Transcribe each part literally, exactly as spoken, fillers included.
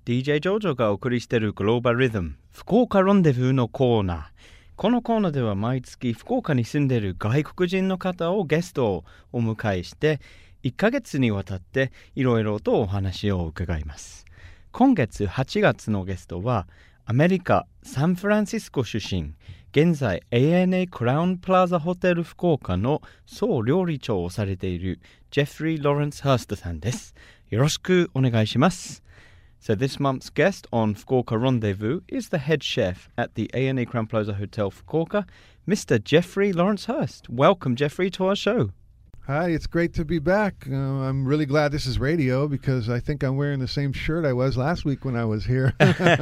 ディージェー ジョージョがお送りしているグローバルリズム福岡ロンデブーのコーナー。このコーナーでは毎月福岡に住んでいる外国人の方をゲストをお迎えしていっかげつにわたっていろいろとお話を伺います。今月はちがつのゲストはアメリカ・サンフランシスコ出身、現在 エーエヌエー クラウンプラザホテル福岡の総料理長をされているジェフリー・ロレンス・ハーストさんです。よろしくお願いします。So this month's guest on Fukuoka Rendezvous is the head chef at the A N A Crown Plaza Hotel Fukuoka, Mister Jeffrey Lawrence Hurst. Welcome, Jeffrey, to our show. Hi, it's great to be back. Uh, I'm really glad this is radio because I think I'm wearing the same shirt I was last week when I was here.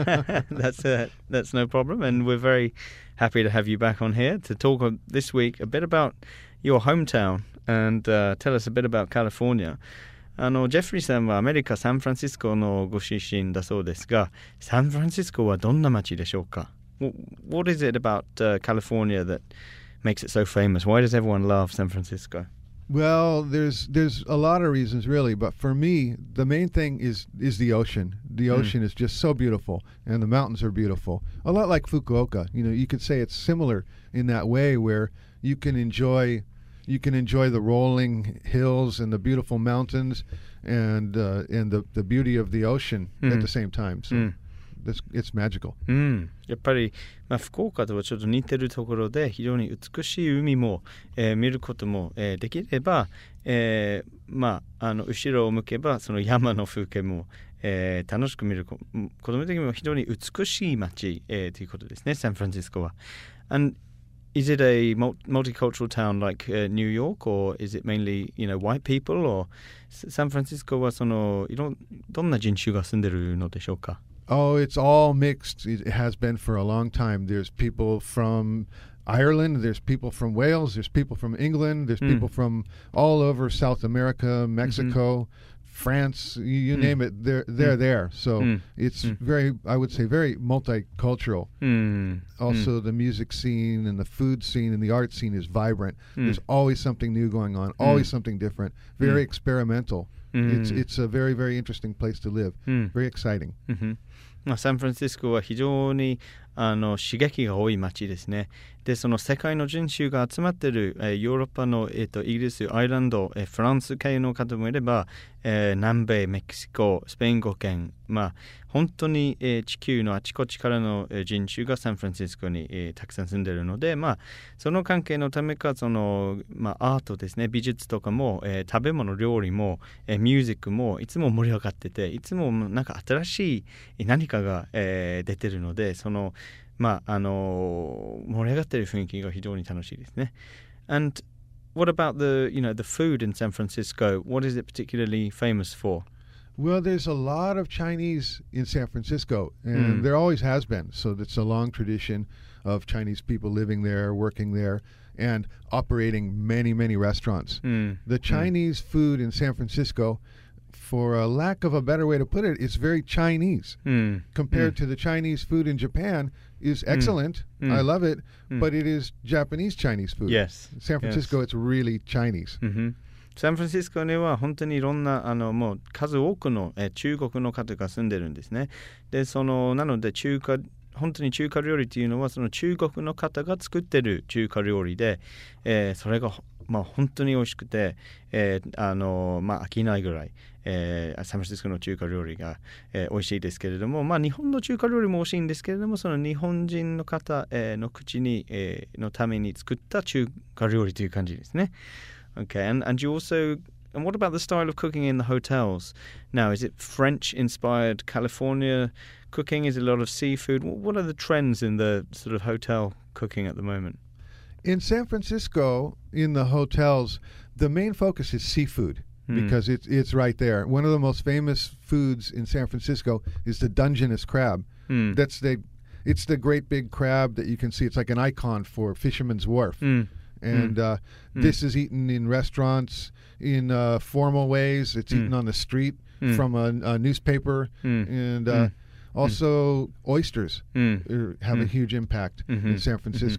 that's uh, that's no problem, and we're very happy to have you back on here to talk uh, this week a bit about your hometown and uh, tell us a bit about California.あのジェフリーさんはアメリカ・サンフランシスコのご出身だそうですが、サンフランシスコはどんな街でしょうか？ What is it about、uh, California that makes it so famous? Why does everyone love San Francisco? Well, there's there's a lot of reasons really, but for me, the main thing is is the ocean. The ocean、mm. is just so beautiful, and the mountains are beautiful. A lot like Fukuoka. You know, you could say it's similar in that way where you can enjoy...You can enjoy the rolling hills and the beautiful mountains and uh, and the, the beauty of the ocean、mm. at the same time. So、mm. it's, it's magical. うん、やっぱり、まあ、福岡とはちょっと似てるところで非常に美しい海も、えー、見ることも、えー、できれば、えー、まああの後ろを向けばその山の風景も、えー、楽しく見る子供的にも非常に美しい街、えー、ということですね、サンフランシスコは。And is it a multicultural town like、uh, New York, or is it mainly, you know, white people, or San Francisco はそのいろんどんな人種が住んでるのでしょうか? Oh, it's all mixed. It has been for a long time. There's people from Ireland, there's people from Wales, there's people from England, there's people、mm. from all over South America, Mexico,、mm-hmm.France, you, you、mm. name it, they're, they're、mm. there. So、mm. it's、mm. very, I would say, very multicultural.、Mm. Also,、mm. the music scene and the food scene and the art scene is vibrant.、Mm. There's always something new going on, always、mm. something different, very、mm. experimental.、Mm. It's, it's a very, very interesting place to live.、Mm. Very exciting.、Mm-hmm. まあ、サンフランシスコは非常にあの刺激が多い街ですね。で、その世界の人種が集まっている、えー、ヨーロッパの、えー、とイギリス、アイルランド、えー、フランス系の方もいれば、えー、南米、メキシコ、スペイン語圏、まあ本当に、えー、地球のあちこちからの、えー、人種がサンフランシスコに、えー、たくさん住んでいるので、まあその関係のためかその、まあ、アートですね、美術とかも、えー、食べ物、料理も、えー、ミュージックもいつも盛り上がってて、いつもなんか新しい何かが、えー、出てるので、そのまああの盛り上がっている雰囲気が非常に楽しいですね。And what about the, you know, the food in San Francisco? What is it particularly famous for? Well, there's a lot of Chinese in San Francisco, and、mm. there always has been. So it's a long tradition of Chinese people living there, working there, and operating many, many restaurants.、Mm. The Chinese、mm. food in San Francisco, for a lack of a better way to put it, it's very Chinese.、Mm. Compared、mm. to the Chinese food in Japan is excellent.、Mm. I love it.、Mm. But it is Japanese Chinese food. Yes. San Francisco, yes. it's really Chinese.、Mm-hmm. サンフランシスコには本当にいろんなあのもう数多くのえ中国の方が住んでるんですね。で、そのなので中華本当に中華料理っていうのはその中国の方が作ってる中華料理で、えー、それがまあ本当に美味しくて、えー、あのまあ飽きないぐらい、えー、サンフランシスコの中華料理が、えー、美味しいですけれども、まあ日本の中華料理も美味しいんですけれども、その日本人の方、えー、の口に、えー、のために作った中華料理という感じですね。Okay, and, and you also, and what about the style of cooking in the hotels? Now, is it French-inspired California cooking? Is it a lot of seafood? What are the trends in the sort of hotel cooking at the moment? In San Francisco, in the hotels, the main focus is seafood.Because it's it's right there. One of the most famous foods in San Francisco is the Dungeness crab. Mm. That's the it's the great big crab that you can see. It's like an icon for Fisherman's Wharf. Mm. And mm. Uh, mm. this is eaten in restaurants in uh, formal ways. It's mm. eaten on the street mm. from a, a newspaper. Mm. And uh, mm. also mm. oysters mm. have mm. a huge impact、mm-hmm. in San Francisco.、Mm-hmm.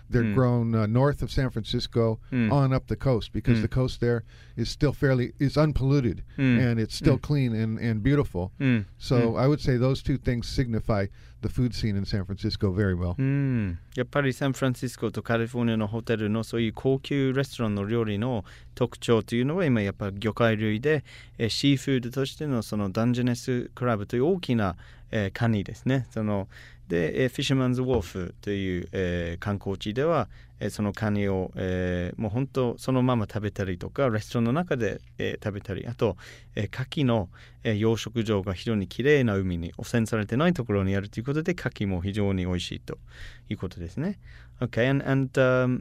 They're Mm. grown uh, north of San Francisco Mm. on up the coast because Mm. the coast there is still fairly is unpolluted Mm. and it's still Mm. clean and, and beautiful. うん So うん I would say those two things signify the food scene in San Francisco very well. うんやっぱりサンフランシスコとカリフォルニアのホテルのそういう高級レストランの料理の特徴というのは今やっぱり魚介類で、えーシーフードとしてのそのダンジェネスクラブという大きな、えーカニですね。そので、えーフィッシュマンズウォーフという、えー観光地では、えーそのカニを、えーもう本当そのまま食べたりとかレストランの中で、えー食べたりあと、えー、牡蠣の、えー養殖場が非常にきれいな海に汚染されてないところにあるということで牡蠣も非常に美味しいということですね。Okay, and, and um,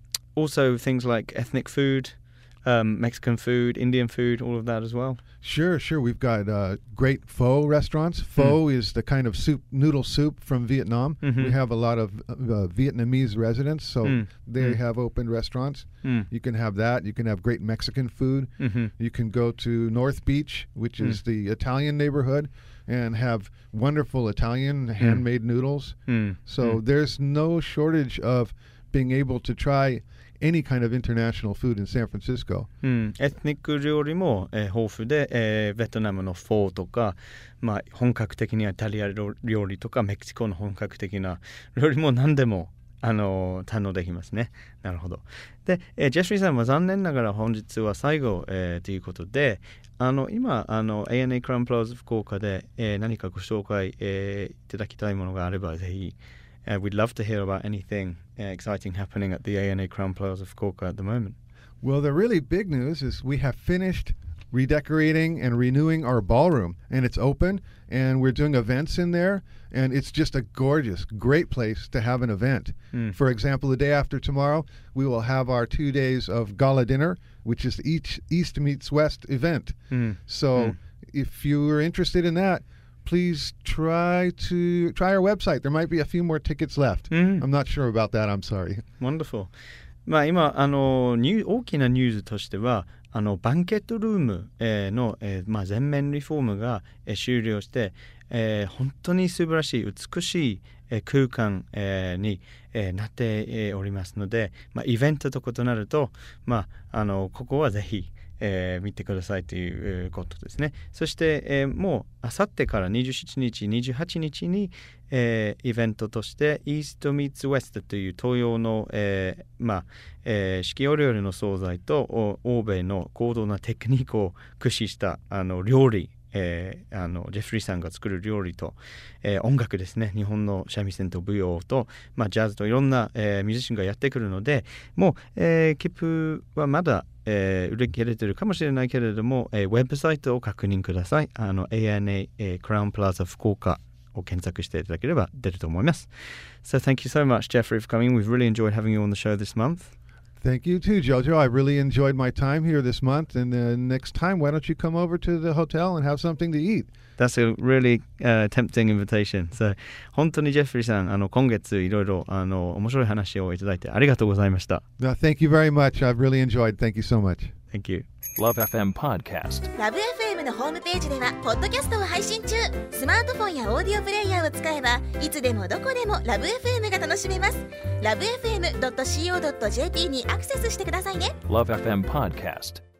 also things like ethnic food, um, Mexican food, Indian food, all of that as well. Sure, sure. We've got uh, great pho restaurants. Pho is the kind of soup, noodle soup from Vietnam. Mhm. We have a lot of uh, Vietnamese residents, so Mm. they Mm. have opened restaurants. うん、 You can have that. You can have great Mexican food. うん、 You can go to North Beach, which is the Italian neighborhood, and have wonderful Italian handmade noodles. うん、 So there's no shortage of being able to try any kind of international food in San Francisco. うん、エスニック料理も、えー豊富で、えーベトナムのフォーとか、まあ、本格的なイタリア料理とかメキシコの本格的な料理も何でも、あのー堪能できますね。なるほど。で、えージェフリーさんは残念ながら本日は最後、えーということで、あの今あの エーエヌエー クラウンプラザ福岡で、えー何かご紹介、えーいただきたいものがあればぜひ。Uh, we'd love to hear about anything uh, exciting happening at the A N A Crown Plaza Fukuoka at the moment. Well, the really big news is we have finished redecorating and renewing our ballroom, and it's open, and we're doing events in there, and it's just a gorgeous, great place to have an event. Mm. For example, the day after tomorrow, we will have our two days of gala dinner, which is the East, East Meets West event. Mm. So Mm. if you are interested in that, please try to try our website. There might be a few more tickets left. Mm. I'm not sure about that. I'm sorry. Wonderful. まあ今あのニュー大きなニュースとしてはあのバンケットルーム、えーの、えーまあ、全面リフォームが、えー終了して、えー本当に素晴らしい美しい、えー空間、えーに、えーなって、えーおりますので、まあ、イベントと異なると、まあ、あのここはぜひえー見てくださいということですね。そして、えーもうあさってからにじゅうしちにち、にじゅうはちにちに、えーイベントとしてイーストミーツウェストという東洋の、えーまあえー四季折々の惣菜とお欧米の高度なテクニックを駆使したあの料理、えーあのジェフリーさんが作る料理と、えー音楽ですね、日本の三味線と舞踊と、まあ、ジャズといろんな、えーミュージシャンがやってくるので、もう、えー、切符はまだえー、売り切れてるかもしれないけれども、えー、ウェブサイトを確認ください。あの エーエヌエー、えー、クラウンプラザ福岡を検索していただければ出ると思います。So thank you so much, Jeffrey, for coming. We've really enjoyed having you on the show this month. Thank you too, Jojo. I really enjoyed my time here this month. And uh, next time, why don't you come over to the hotel and have something to eat? That's a really、uh, tempting invitation. So 本当にジェフリーさん、あの今月いろいろあの面白い話をいただいてありがとうございました。 No, thank you very much. I've really enjoyed. Thank you so much. Thank you. Love エフエム Podcast。 ラブ エフエム のホームページではポッドキャストを配信中。スマートフォンやオーディオプレイヤーを使えばいつでもどこでもラブ エフエム が楽しめます。ラブ エフエムドットシーオードットジェーピー にアクセスしてくださいね。 Love エフエム Podcast。